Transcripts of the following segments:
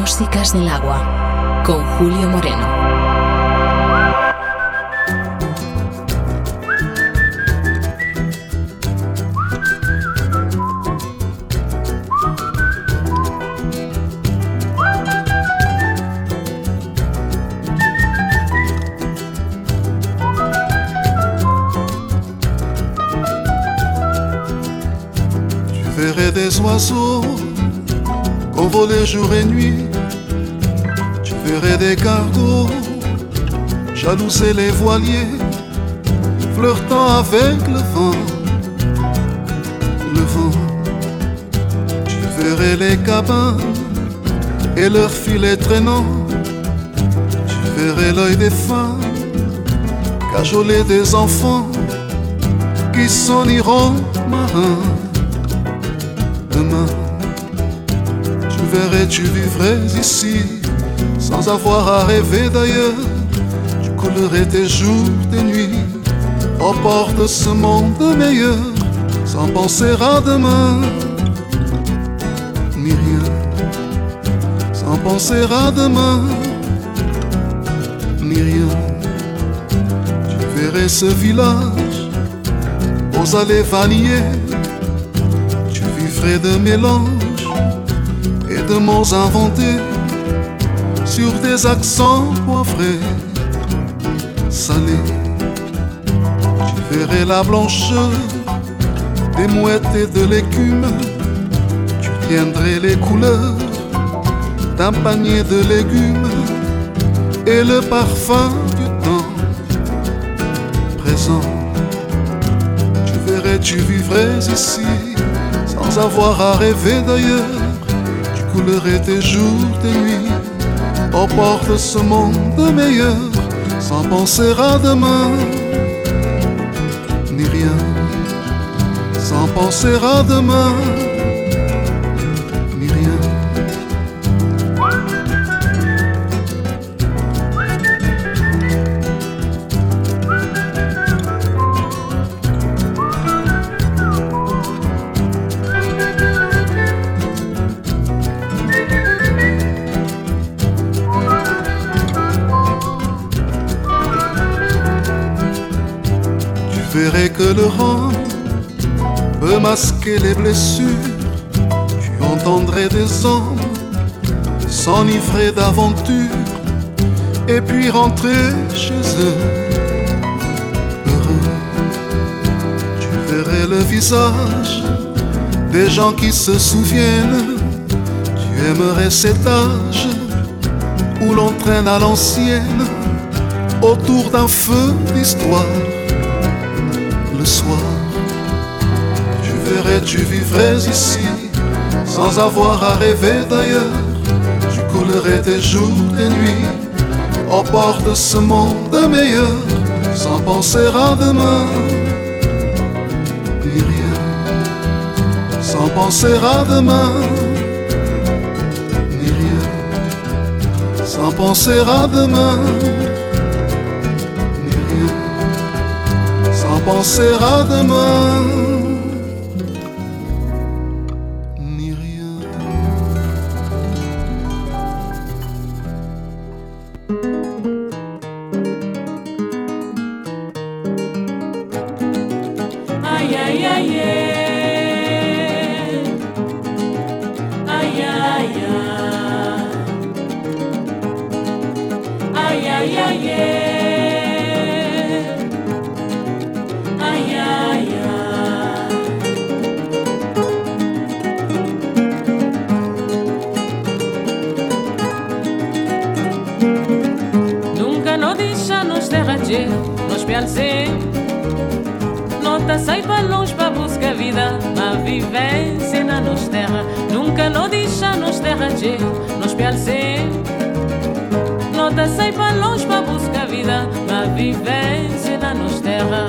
Músicas del Agua, con Julio Moreno. Des oiseaux envolés jour et nuit, tu verrais des cargos jalouser les voiliers, flirtant avec le vent. Tu verrais les cabanes et leurs filets traînants, tu verrais l'œil des femmes cajoler des enfants qui s'en iront marins. Demain, tu verrais, tu vivrais ici, sans avoir à rêver d'ailleurs. Tu coulerais tes jours, tes nuits, aux portes de ce monde meilleur, sans penser à demain, ni rien. Sans penser à demain, ni rien. Tu verrais ce village aux allées vanillées, de mélanges et de mots inventés sur des accents poivrés, salés. Tu verrais la blancheur des mouettes et de l'écume, tu tiendrais les couleurs d'un panier de légumes et le parfum du temps présent. Tu verrais, tu vivrais ici, sans avoir à rêver d'ailleurs. Tu coulerais tes jours, tes nuits, aux portes de ce monde meilleur, sans penser à demain, ni rien. Sans penser à demain, ni rien. Tu verrais que le rang peut masquer les blessures. Tu entendrais des hommes s'enivrer d'aventure et puis rentrer chez eux heureux. Tu verrais le visage des gens qui se souviennent. Tu aimerais cet âge où l'on traîne à l'ancienne autour d'un feu d'histoire. Le soir, tu verrais, tu vivrais ici, sans avoir à rêver d'ailleurs. Tu coulerais tes jours, tes nuits, aux portes de ce monde meilleur, sans penser à demain, ni rien. Sans penser à demain, ni rien. Sans penser à demain, penser à demain, ni rien. Aïe aïe aïe, aïe aïe aïe, aïe aïe aïe. Nos pialcê, nota sai para longe para buscar vida, a vivência na nos terra, nunca nos deixa nos terra de nos pialcê, nota sai para longe para buscar vida, a vivência na nos terra.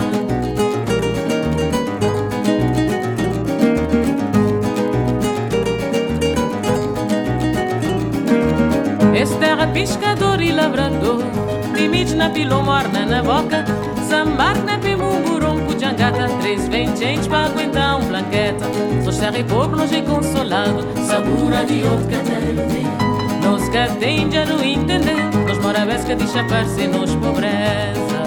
Esta terra pescador e lavrador, limites na pilo morna na boca, sambar na pimumburum pujangata, 3 gente para aguentar blanqueta. Sou terra e povo longe consolado, sabura de outro catete. Nós que tem já não entender, nós mora vez que deixa aparecer nos pobreza.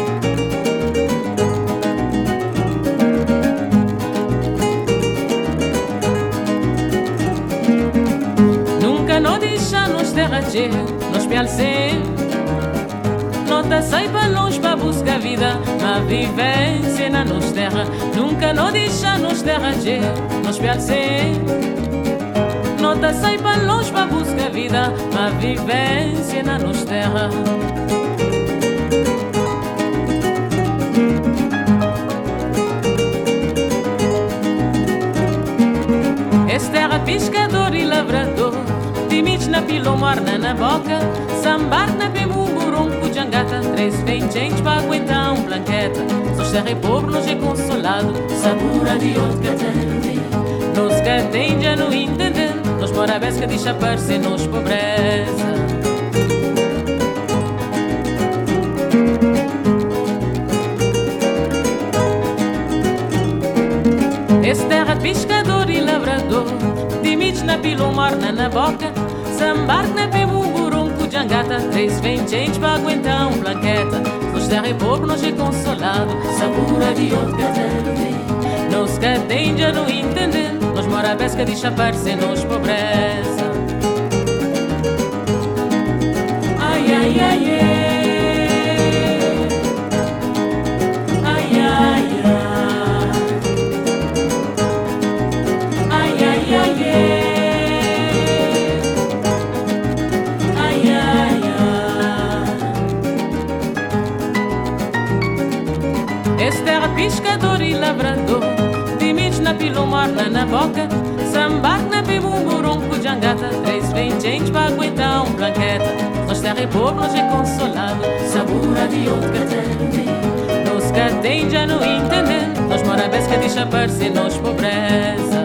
Nunca não deixa nos terra cheia, nos pial sempre. Nota sai para longe para buscar vida, mas vivência na nos terra. Nunca não deixa nos terra cheia, nos pial sempre. Nota sai para longe para buscar vida, mas vivência na nos terra. Esta terra pescador e lavrador, timidos na pilomar na boca, sambar na pemumburum jangata, 3 gente para aguentar blanqueta. Só terra é pobre, nós é consolado, sabura de outro que tem. Nós que tem já não entender, nós mora vez que deixa aparecer nos pobreza. Esta terra pescador e lavrador, timidos na pilomar na boca, sambar na pemumburum jangata, 3 gente para aguentar blanqueta. Nós terra é pobre, nós é consolado, sabura de outro que tem. Nós que tem já não entender, nós mora vez que deixa aparecer nos pobreza. Ai, ai, ai, ai. Pescador e lavrador, timidos na pilomar na boca, sambar na pemumburum jangata, 3 gente para aguentar blanqueta. Nós terra é pobre, nós é consolado, sabura de outro que tem. Nós que tem já não entender, nós mora vez que deixa aparecer nos pobreza.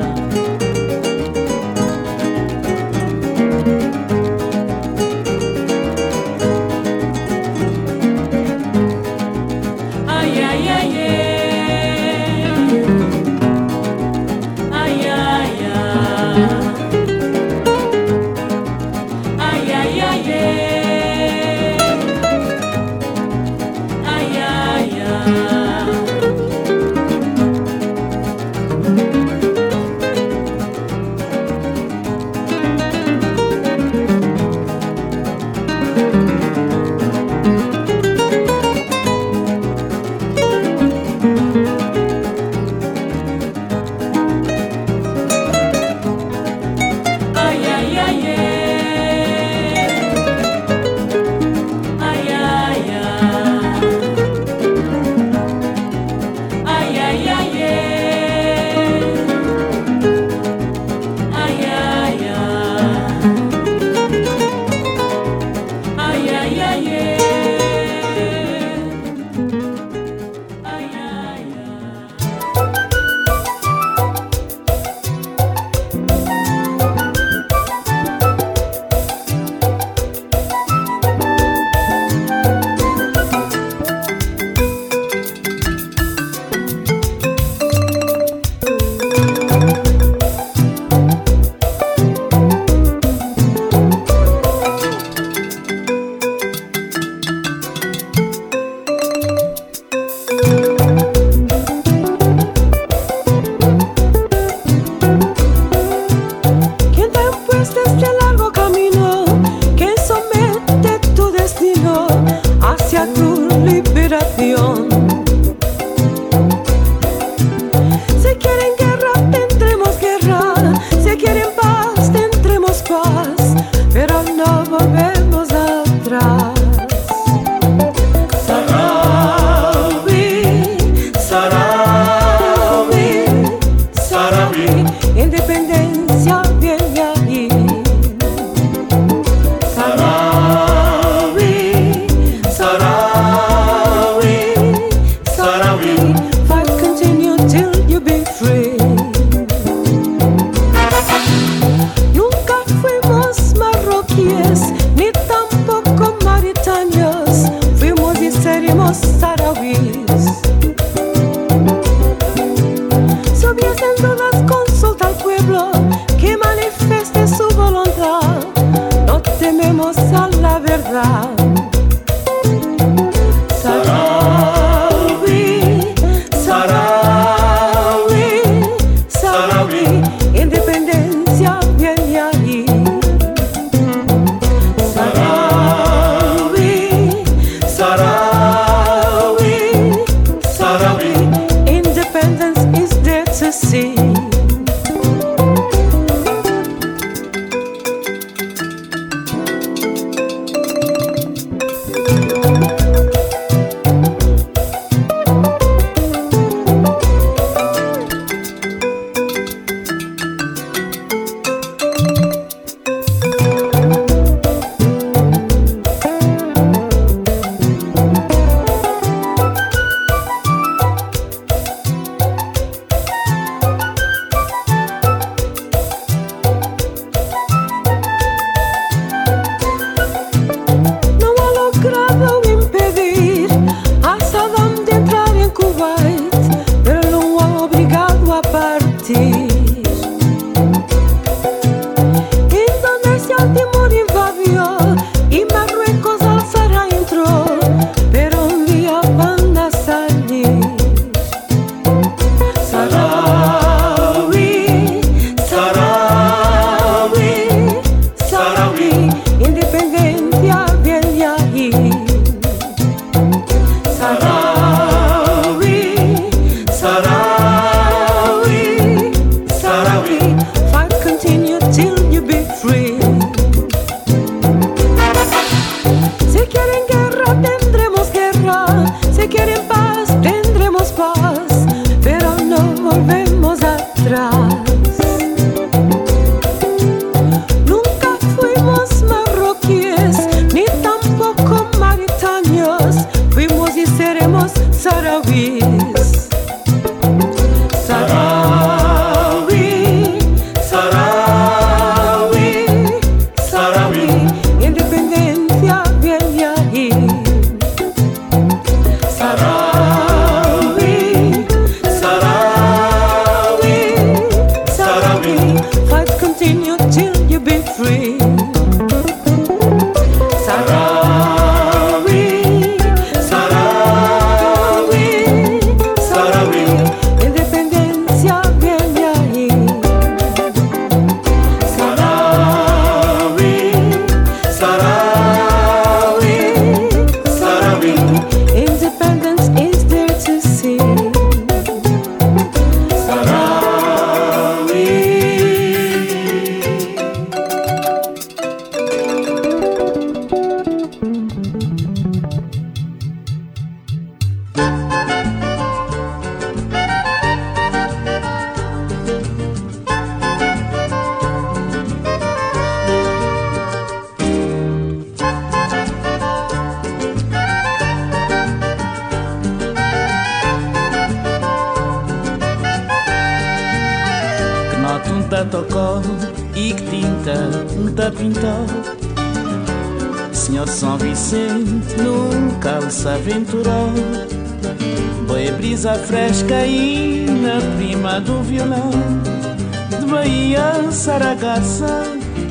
tá tocou e que tinta tá pintou. Senhor São Vicente nunca se aventurou. Boa brisa fresca e na prima do violão, de Bahia, Saragaça,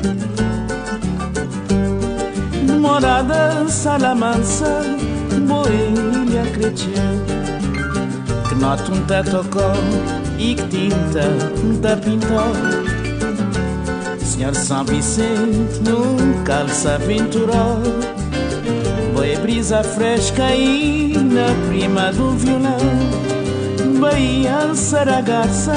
de Morada, Salamanca, boa ilha cresceu. Que nota tá tocou e que tinta tá pintou. Senhor São Vicente nunca se aventurou. Boa brisa fresca e na prima do violão, Bahia, Saragaça,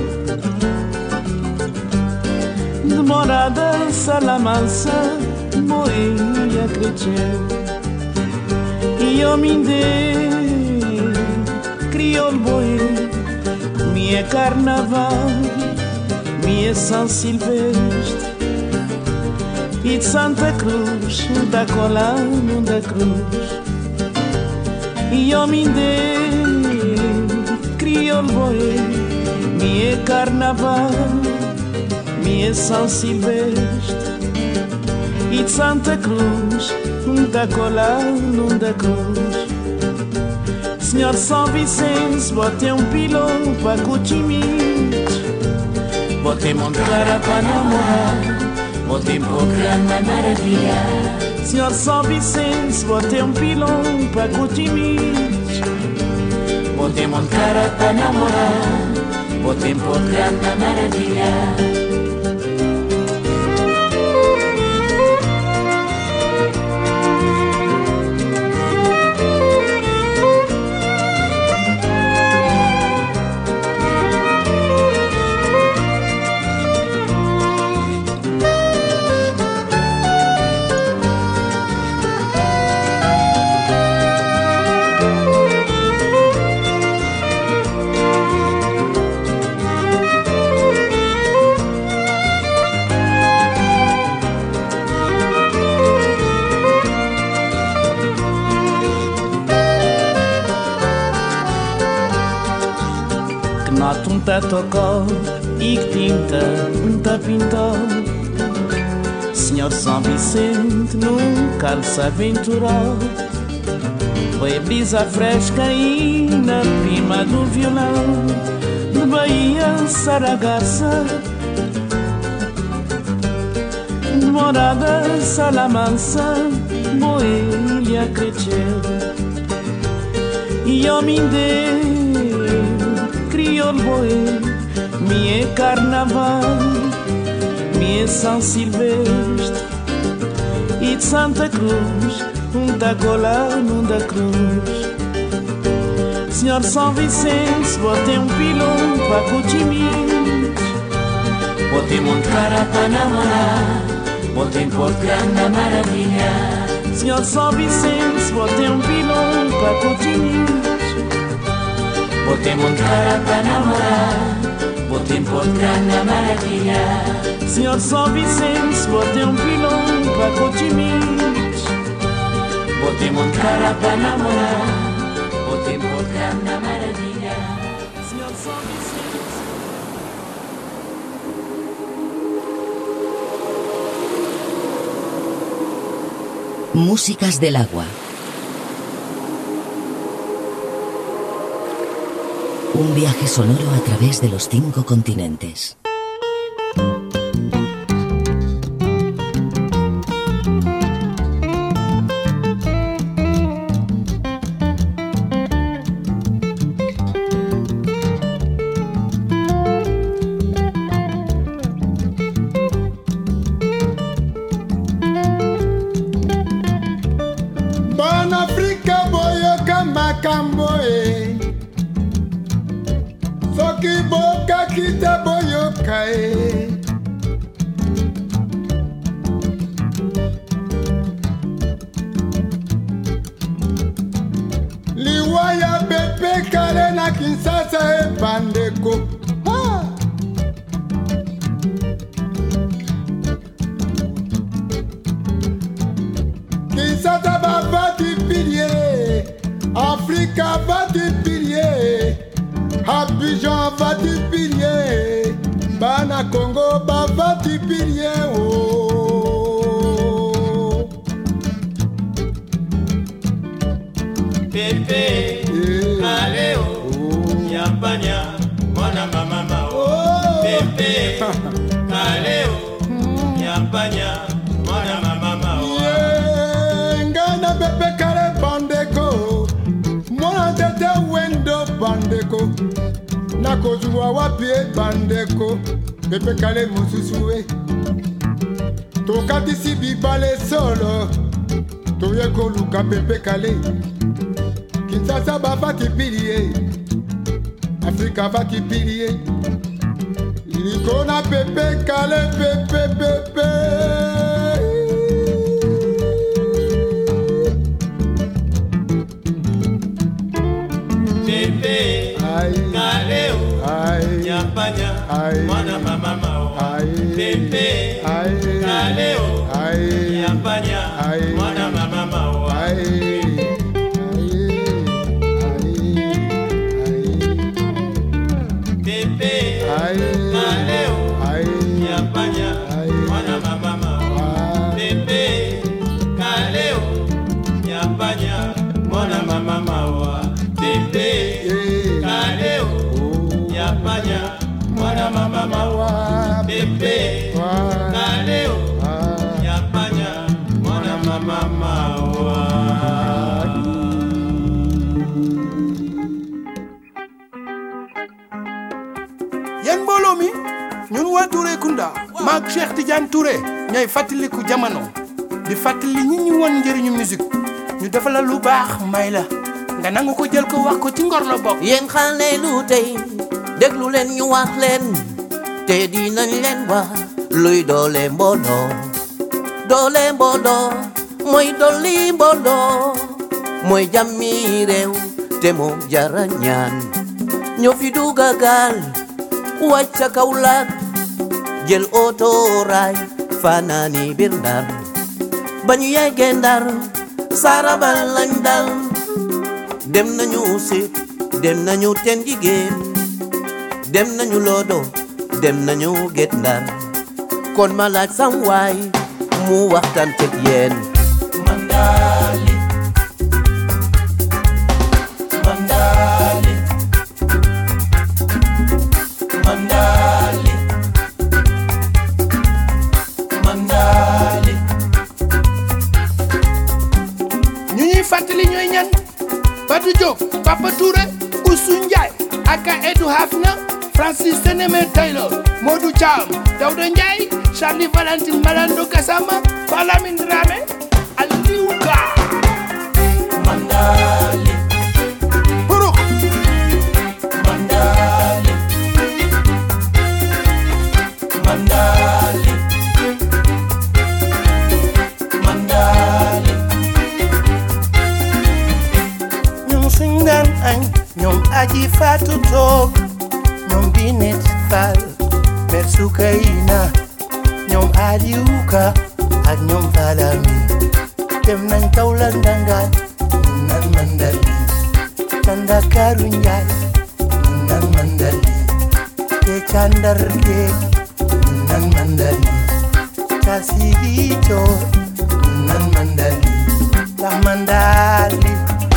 de Morada, Salamanca, boa ilha cresceu. E homem de crioulo boi, minha carnaval, minha São Silvestre, e de Santa Cruz, da Colano da Cruz. E homem de crioulo boi, minha carnaval, minha São Silvestre, e de Santa Cruz, da Colano da Cruz. Senhor São Vicente, botei pilão para Cotimite, botei montar para namorar, botei boca na maravilha. Senhor São Vicente, botei pilão para Cotimite, botei montar para namorar, botei boca na maravilha. Tá tocou e que tinta tá pintou. Senhor São Vicente nunca se aventurou. Foi brisa fresca e na prima do violão, de Bahia, Saragaça, de Morada, Salamanca, boa ilha cresceu. E homem de crioulo boi, minha carnaval, minha São Silvestre, e de Santa Cruz, da Colano da Cruz. Senhor São Vicente, botei pilão para Cotimite, botei montar para namorar, botei boca na maravilha. Senhor São Vicente, botei pilão para Cotimite, botei montar para namorar, botei boca na maravilha. Senhor São Vicente, botei pilão para Cotimite, botei montar para namorar, botei boca na maravilha. Senhor São Vicente. Músicas del agua. Un viaje sonoro a través de los 5 continentes. Banafrika boyoka makambo e soki boka kita boyoka e liwaya pepe kale na Kinshasa e bandeko Kinshasa bavati pilier, Afrika vati pilier, Abidjan vati pilier, Bana na Congo bava tipirien o Pepe Kaleo Yampanya mwana mama mao Pepe Kaleo Yampanya mwana mama mao Ngana Pepe Kale bandeko mwana tete wendo bandeko nakozwa wapie bandeko Pepe Kale mususuwe tokatisi bibale solo toye koluka Pepe Kale Kinshasa bafati pilie Afrika bafati pilie Likona Pepe Kale Pepe Pepe Pepe Kaleo Yampanya mwana mama mao Pepe Kaleo Yampanya mwana mama mao Pepe Kaleo Yampanya mwana mama mao Pepe Kaleo Yampanya mwana mama mao Pepe Kaleo Yampanya mwana mama mao Pepe Kaleo Yampanya mwana mama mao Yen mbooloo mi ñun waa Touré Kunda maak Cheikh Tidiane Touré ñooy fàttaliku jamono di fàttali ñi ñu won njëriñu musique ñu defal la lu baax may la nga nangu ko jël ko wax ko ci ngor la bokk. yéen xale lu tey déglu leen ñu wax leen te dinañ leen wax luy doole mbooloo mooy dolli mbooloo mooy jàmmi réew te moo jara ñaan ñoo fi dugga gaal wàcca Kaolack jël oto raay fanaani biir Ndar ba ñu yeggee Ndar sarabal lañ dal dem nañu Sit dem nañu Ten Jigéen dem nañu Lodo dem nañu Guet Ndar kon ma laaj sam waay mu waxtaan teg yéen Mandali Mandali Mandali Mandali ñu ñuy fàttali ñooy ñan Badou Diop Papa Touré Oussou Ndiaye aka Edou Hafna Francis Sénémé Taylor Modou Thiam Daouda Ndiaye Charlie Valentine Malando Gassama Balamine Dramé Aliou Ka Mandali Buruk Mandali Mandali Mandali ñoom suñ daan añ ñoom aji Fatou Toog ñoom Binet Fall Mère Soukayna ñoom Aliou Ka ak ñoom Balamine dem nañ Kaolack ndangaan nan Mandali Ndakaaru Njaay nan Mandali te ca Ndar géej nan Mandali ca Sigicoor nan Mandali ta Mandali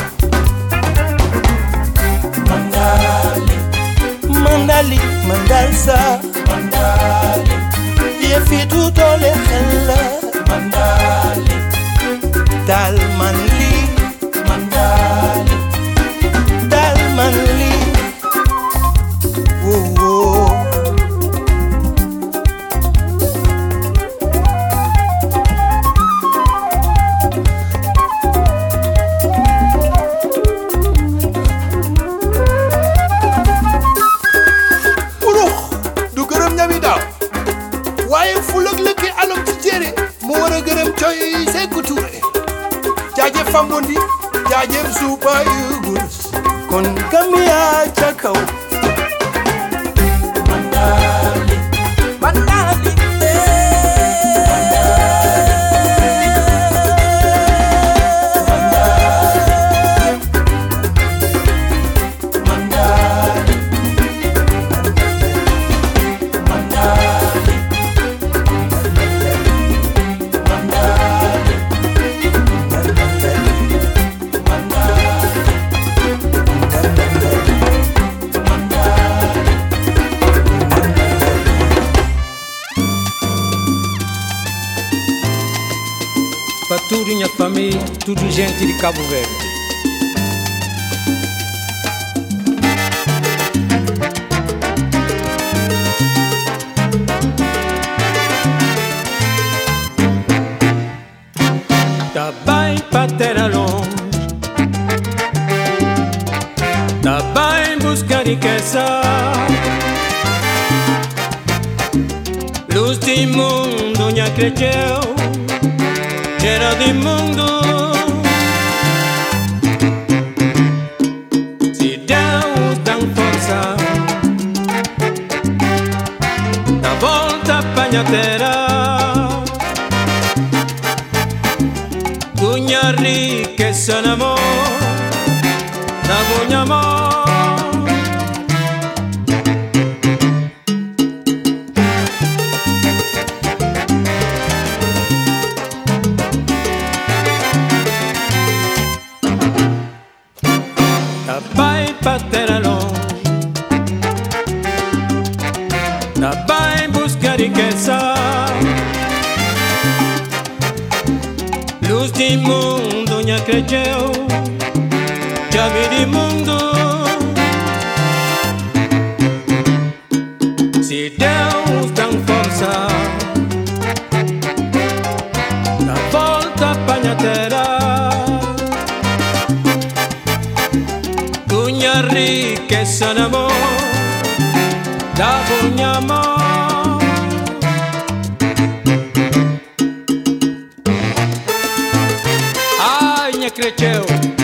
Mandali Mandali Mandalsa Mandali yëfi du doole xel la Mandali dal man lii Mandali dal man lii woo urux du gërëm ñami daaw waaye fulak lëkki alom ci jére mu war a gërëm coy Sékou Touré jaajëf Fambondi jaajëf Super Eagles kon Gambia ca kaw Mandali Mandali Mandali minha família, tudo gente de Cabo Verde. Tá bem para terra longe, tá bem buscar riqueza, luz de mundo nha cresceu, cheiro de mundo. Se Deus dá força, dá volta para a terra. Cunha riqueza no amor, da bunha amor. Da pai para terra longe, da pai buscar riqueza, luz de mundo nha cresceu, chave de mundo. Se Deus dá força, dá volta para a terra. Cunha riqueza no amor, da bunha amor. Cresceu,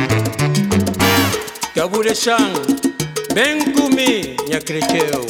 Cabo de Chão, bem comi, nha cresceu.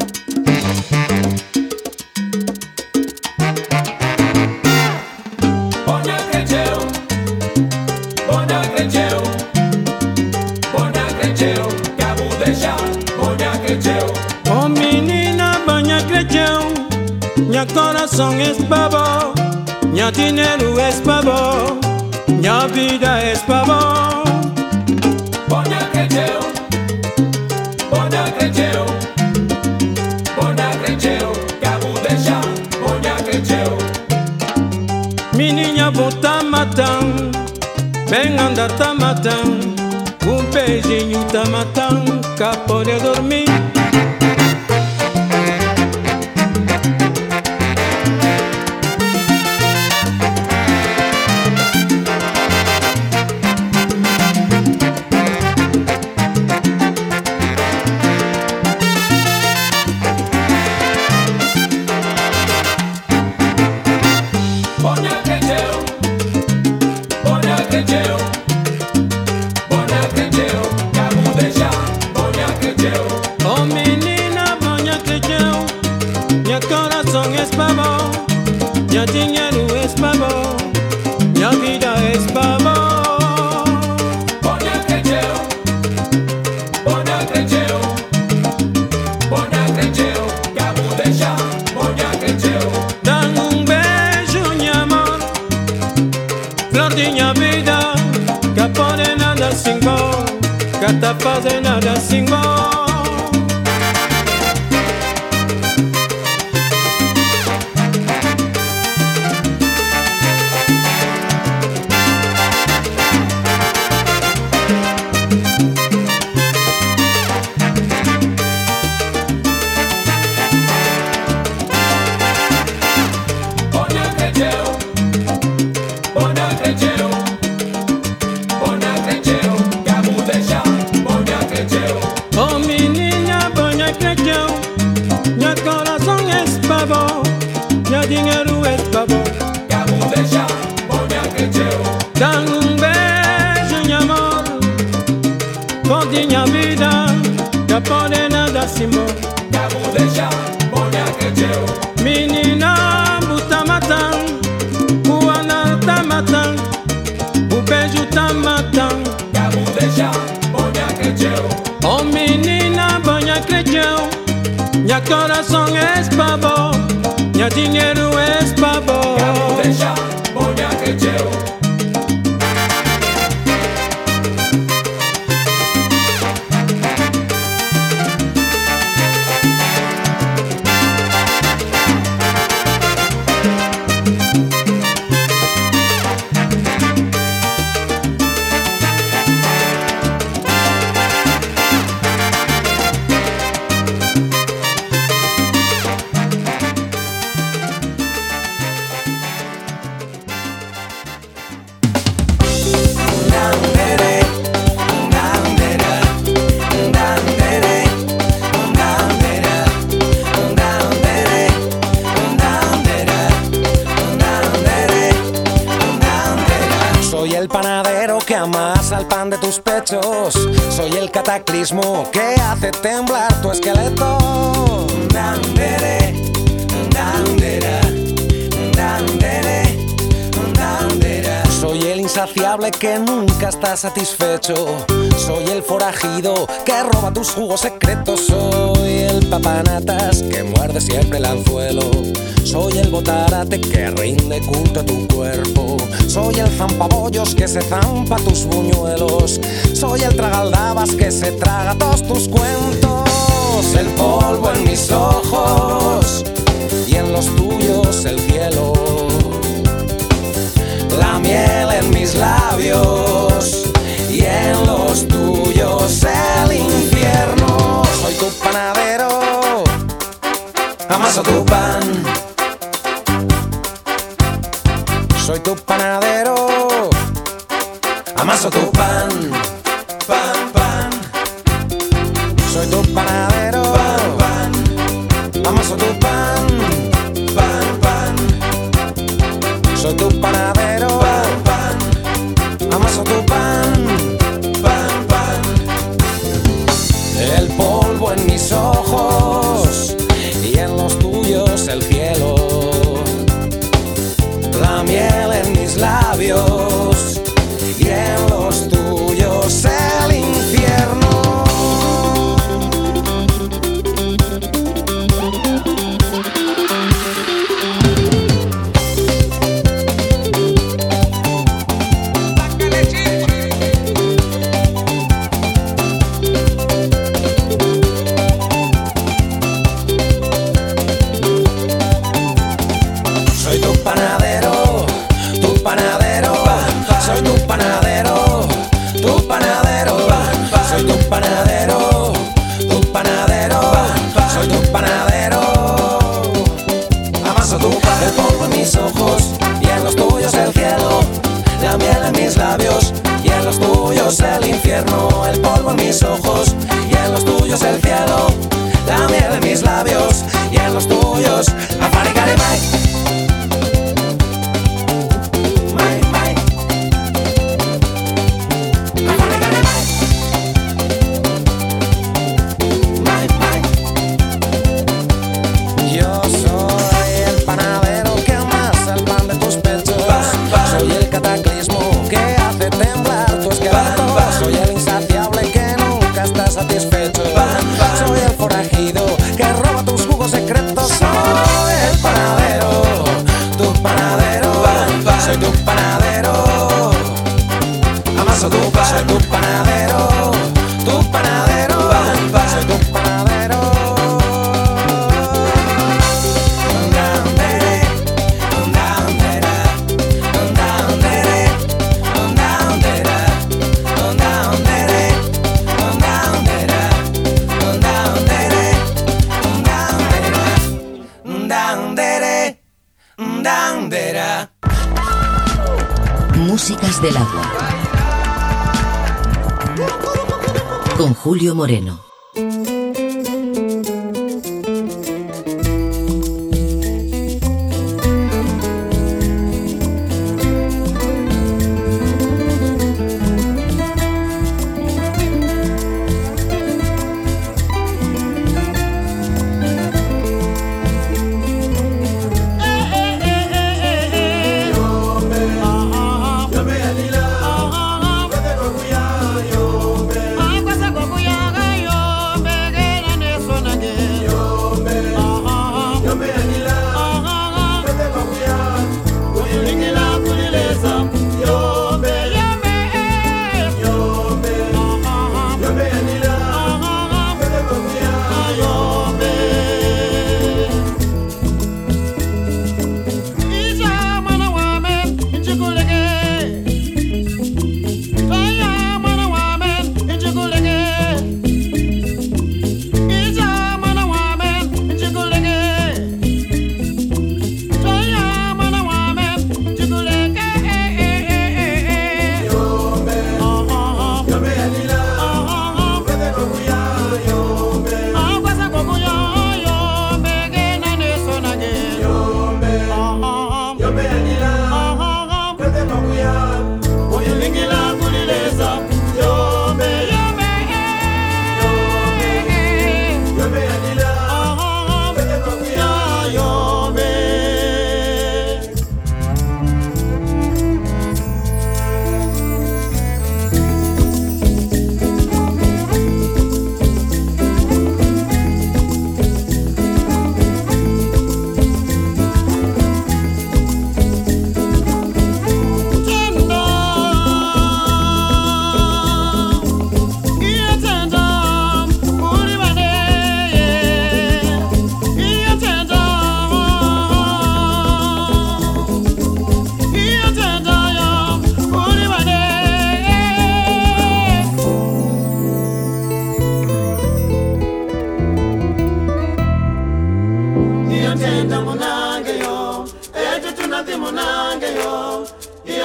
Bonha cresceu, bonha cresceu, bonha cresceu, Cabo de Chão, bonha cresceu. Oh menina, bonha cresceu, nha coração é babo, nha dinheiro é babo. Minha vida é pavão. Bonha cresceu, bonha cresceu, bonha cresceu, Cabo de Chão, bonha cresceu. Menina volta matando, bem andar tá matando, beijinho tá matando, cá pode dormir. Minha dinheiro é babo, minha vida é babo. Bonha cresceu, bonha cresceu, bonha cresceu, Cabo de Chão, bonha cresceu. Dá beijo, minha amor, flor de minha vida, que pode nada sem bom, que tá fazendo nada sem bom. Dinheiro é babo, Cabo de Chão, bonha cresceu. dá beijo, minha amor, pode minha vida, já pode nada se bom. Cabo de Chão, bonha cresceu. Menina, buta matando, o anel tá matando, o beijo tá matando. Cabo de Chão, bonha cresceu. Oh menina, bonha cresceu, minha coração é babo. Minha dinheiro é babo. Cabo de Chão, bonha cresceu. el pan de tus pechos. Soy el cataclismo que hace temblar tu esqueleto. Dandere, dandera, dandere, dandera. Soy el insaciable que nunca está satisfecho. Soy el forajido que roba tus jugos secretos. Soy el papanatas que muerde siempre el anzuelo. Soy el botarate que rinde culto a tu cuerpo. Soy el zampabollos que se zampa tus buñuelos. Soy el tragaldabas que se traga todos tus cuentos. El polvo en mis ojos y en los tuyos el cielo. La miel en mis labios y en los tuyos el infierno. Soy tu panadero, amaso tu pan. Soy tu panadero, amaso tu pan, pan, pan. Soy tu panadero, pan, pan. Amaso tu pan, pan, pan. Soy tu panadero, pan, pan. Amaso tu pan, pan, pan. El polvo en mis ojos y en los tuyos el cielo. La miel en mis labios y en los tuyos el infierno. Ojos y en los tuyos el cielo, la miel en mis labios y en los tuyos el infierno. El polvo en mis ojos y en los tuyos el cielo, la miel en mis labios y en los tuyos Afaricarimai. Soy tu panadero, tu panadero, soy tu panadero. Dandere, dandera, dandere, dandera, dandere, dandera, dandere, dandera. Músicas del agua. Con Julio Moreno. Yo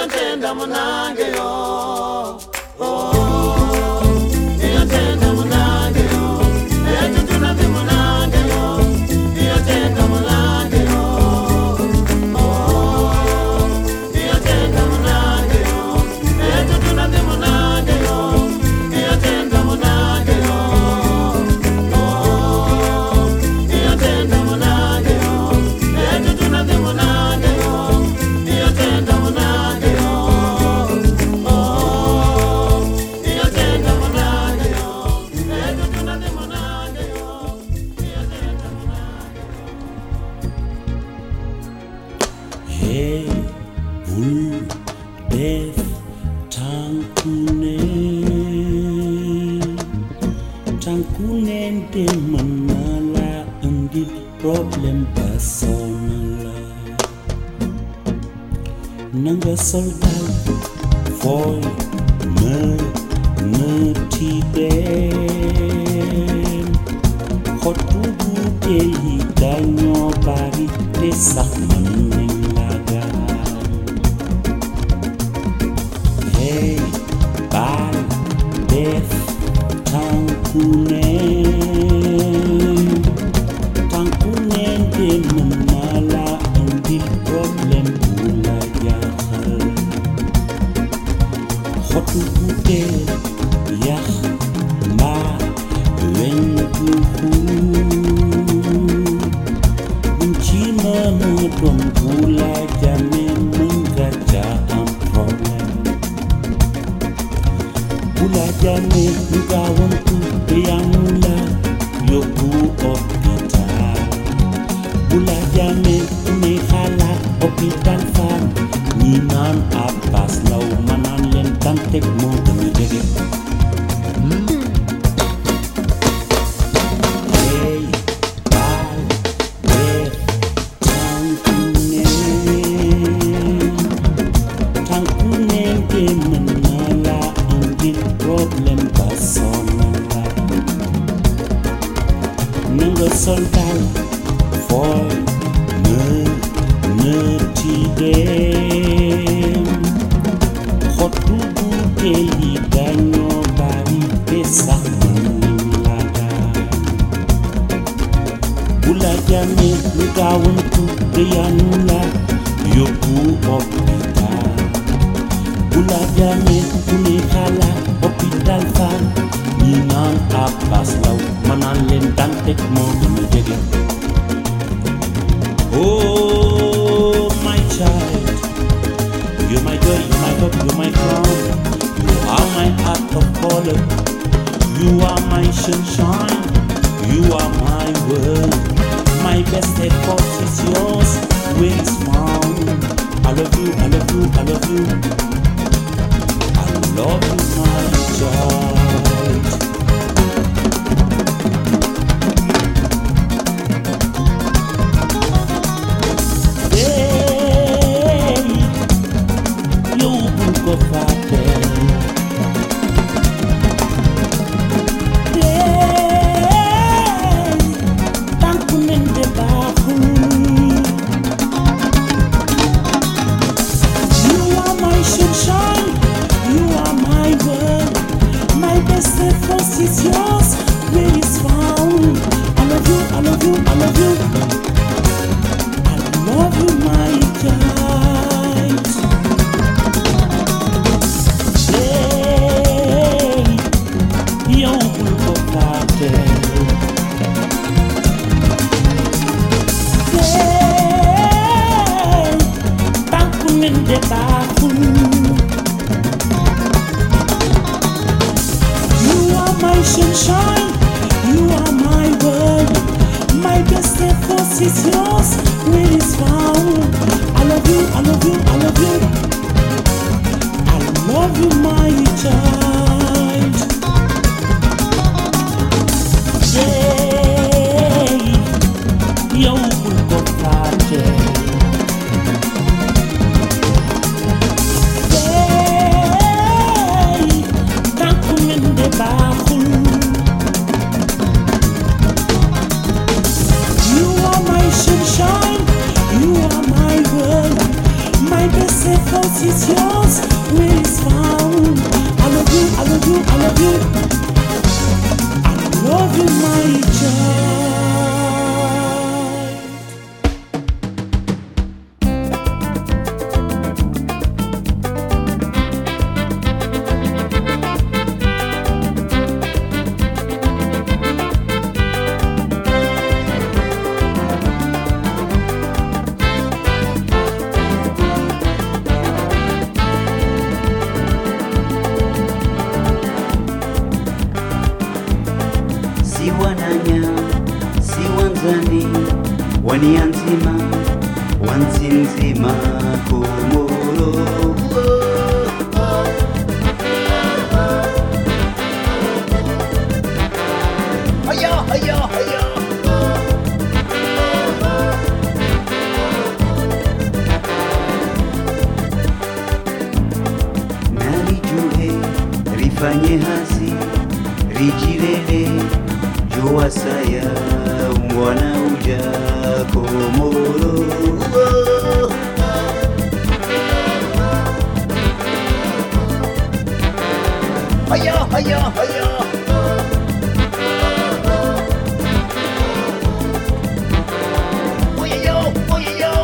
iyotenda munange yo iyotenda munange yo etutuna ndi munange yo iyotenda munange yo iyotenda munange yo etutuna ndi munange yo iyotenda munange yo iyotenda munange yo etutuna ndi munange yo iyotenda munange yo iyotenda munange yo etutuna ndi munange yo iyotenda munange Hey, bull, death, tankune de manala undi problem personal nanga soldal foi me tiden khotubu te ganyo bari te sakmanengaga hey bal death tankune de manala undi problem bula jahal khotubu te yah ma wengu Chima mutum pula jamin mengaca am problem Pula jamin kawan tu yang mula yoku hospital Pula jamin ni halak hospital fan Ninan apas lau manan len tantek mo demi jege Soldal for me tiden khotubu teli ganyo bari pesa manlaga bula jame lugawun tu yanula yoku hospital bula jame kuni khala hospital fan Ninan apas lau manan len tantek mo demi jege Oh my child You're my joy, my hope, you're my crown You are my heart of color You are my sunshine You are my world My best effort is yours Where is found I love you, I love you, I love you I love you my child It's yours, where it's found. I love you, I love you, I love you. I love you, my child. Hey, you will go back there. Hey, tankun in the bathroom. My sunshine, you are my world. My best effort is yours, where is found. I love you, I love you, I love you. I love you, my child. Yeah, you will go it's yours. wanzani wanianzima wanzinzima Komoro. Haya, haya, haya. Nalijue rifanye hasi rijilele jua saya mwana uja Komoro. Haya, haya, haya. Oye yo, oye yo.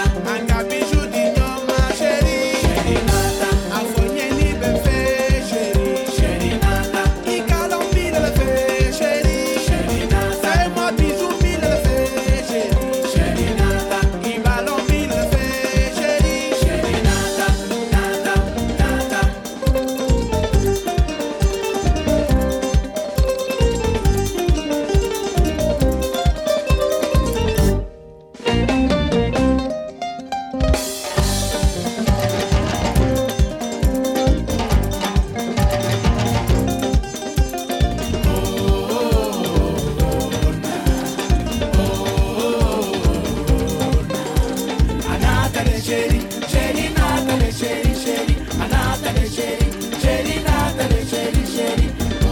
Chérie, Natale chéri, chéri Natale chéri, chéri, a Natale chéri, chéri Natale chéri, chéri.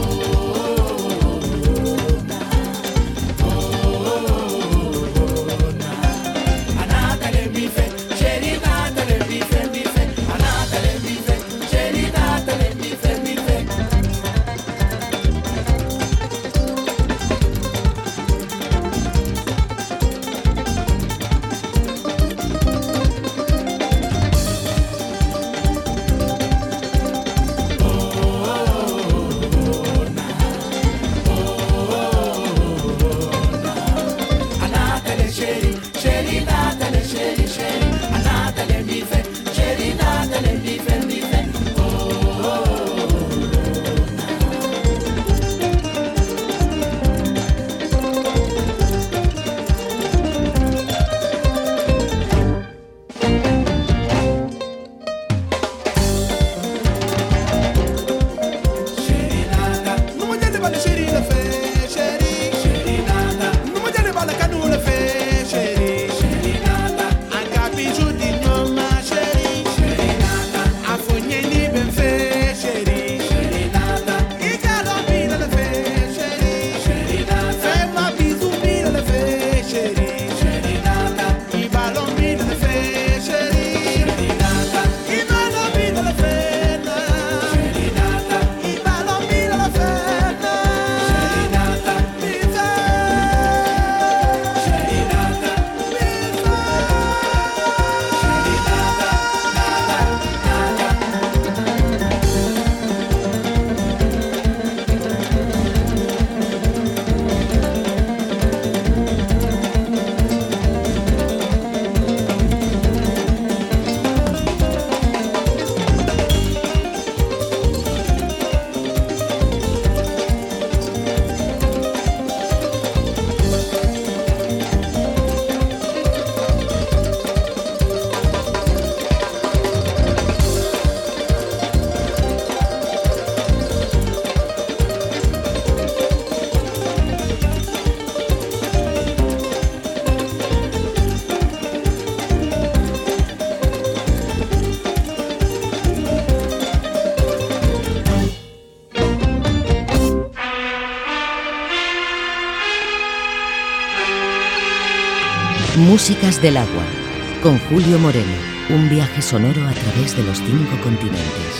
Músicas del agua, con Julio Moreno, un viaje sonoro a través de los 5 continentes.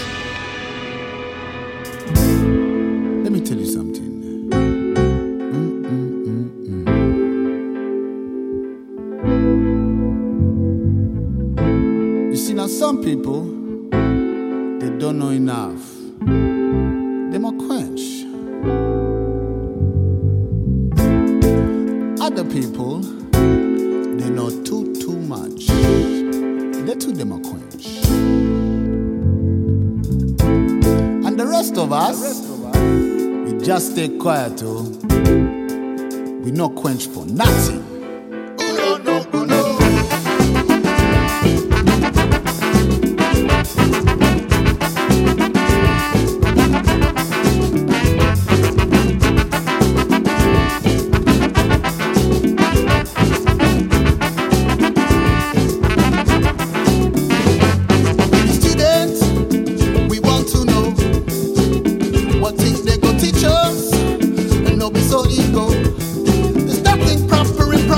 Let me tell you something. You see, now some people, they don't know enough. They might quench. Other people, they know too much. They too them a quench. And the rest of us, we just stay quiet too. We no quench for nothing. So ego, there's nothing proper in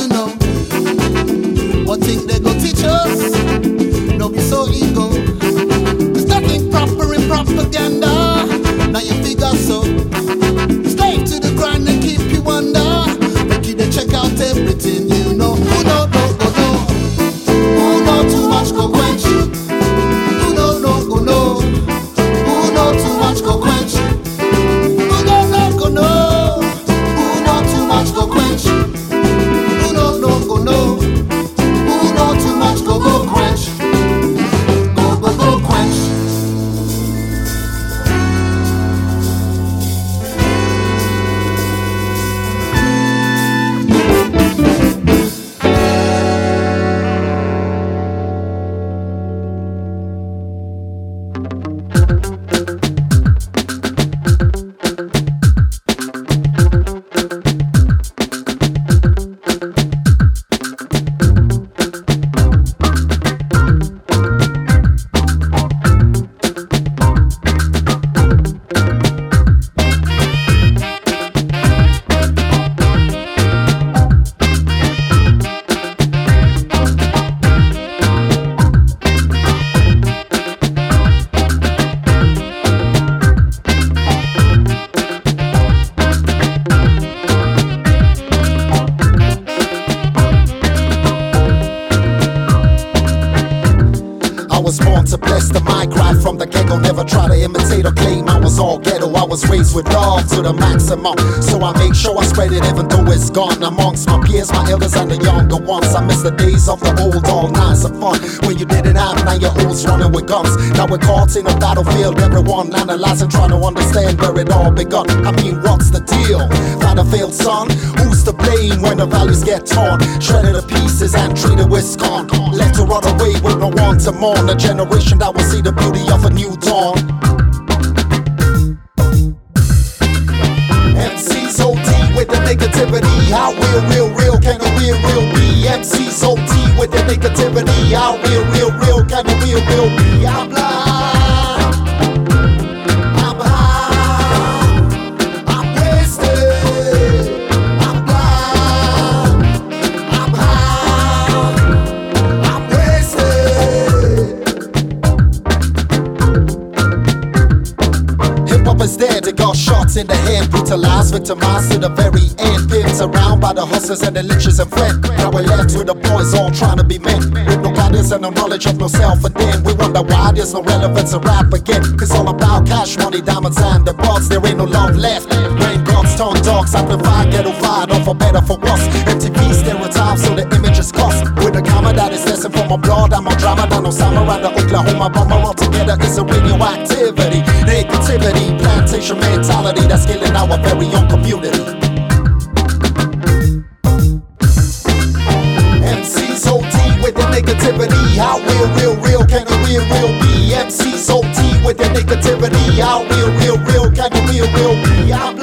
you know. What thing they go teach us? No be so ego. There's nothing proper in propaganda. Now you figure so. Slave to the grind and keep you under. Make you they check out everything you know. Who know, no, go know. Who know too much go quench you. Who know, no, go know. Who know too much go quench you. Who know, no, go know. Who know too much go quench you. Who know, no, go know. Who know too much go quench. Go quench. I was born to bless the mic right from the get-go. Never try to imitate or claim I was all ghetto. I was raised with love to the maximum, so I make sure I spread it even though it's gone. Amongst my peers, my elders and the younger ones, I miss the days of the old, all nights of fun when you didn't have 9-year-olds running with guns. Now we're caught in a battlefield, everyone analyzing, trying to understand where it all begun. I mean, what's the deal? Battlefield, son, who's to blame when the values get torn, shredded to pieces and treated with scorn, left to run away with no one to mourn? A generation that will see the beauty of a new dawn. MC's OD with the negativity. How real can a real be? MC's OD with the negativity. How real can a real be? I'm blind, I'm high, I'm wasted. I'm blind, I'm high, I'm wasted. Hip-hop is dead, it got shots in the head, brutalized, victimized to the very end, pimped around by the hustlers and the liches and friends. Now we're left with the boys all trying to be men, with no guidance and no knowledge of no self, and then we wonder why there's no relevance in rap again. It's all about cash money, diamonds and the bucks. There ain't no love left when guns turn dogs, amplified, ghetto vibe, or for better for worse. MTV stereotypes, so the image is cussed. With a camera that is lesson from my blood, I'm a drama than Osama and the Oklahoma bomber. All together is a radioactivity, negativity, plantation mentality that's killing our very own community. MC's OD with the negativity. How real can a real be? MC's OD with the negativity. How real can a real be? I'm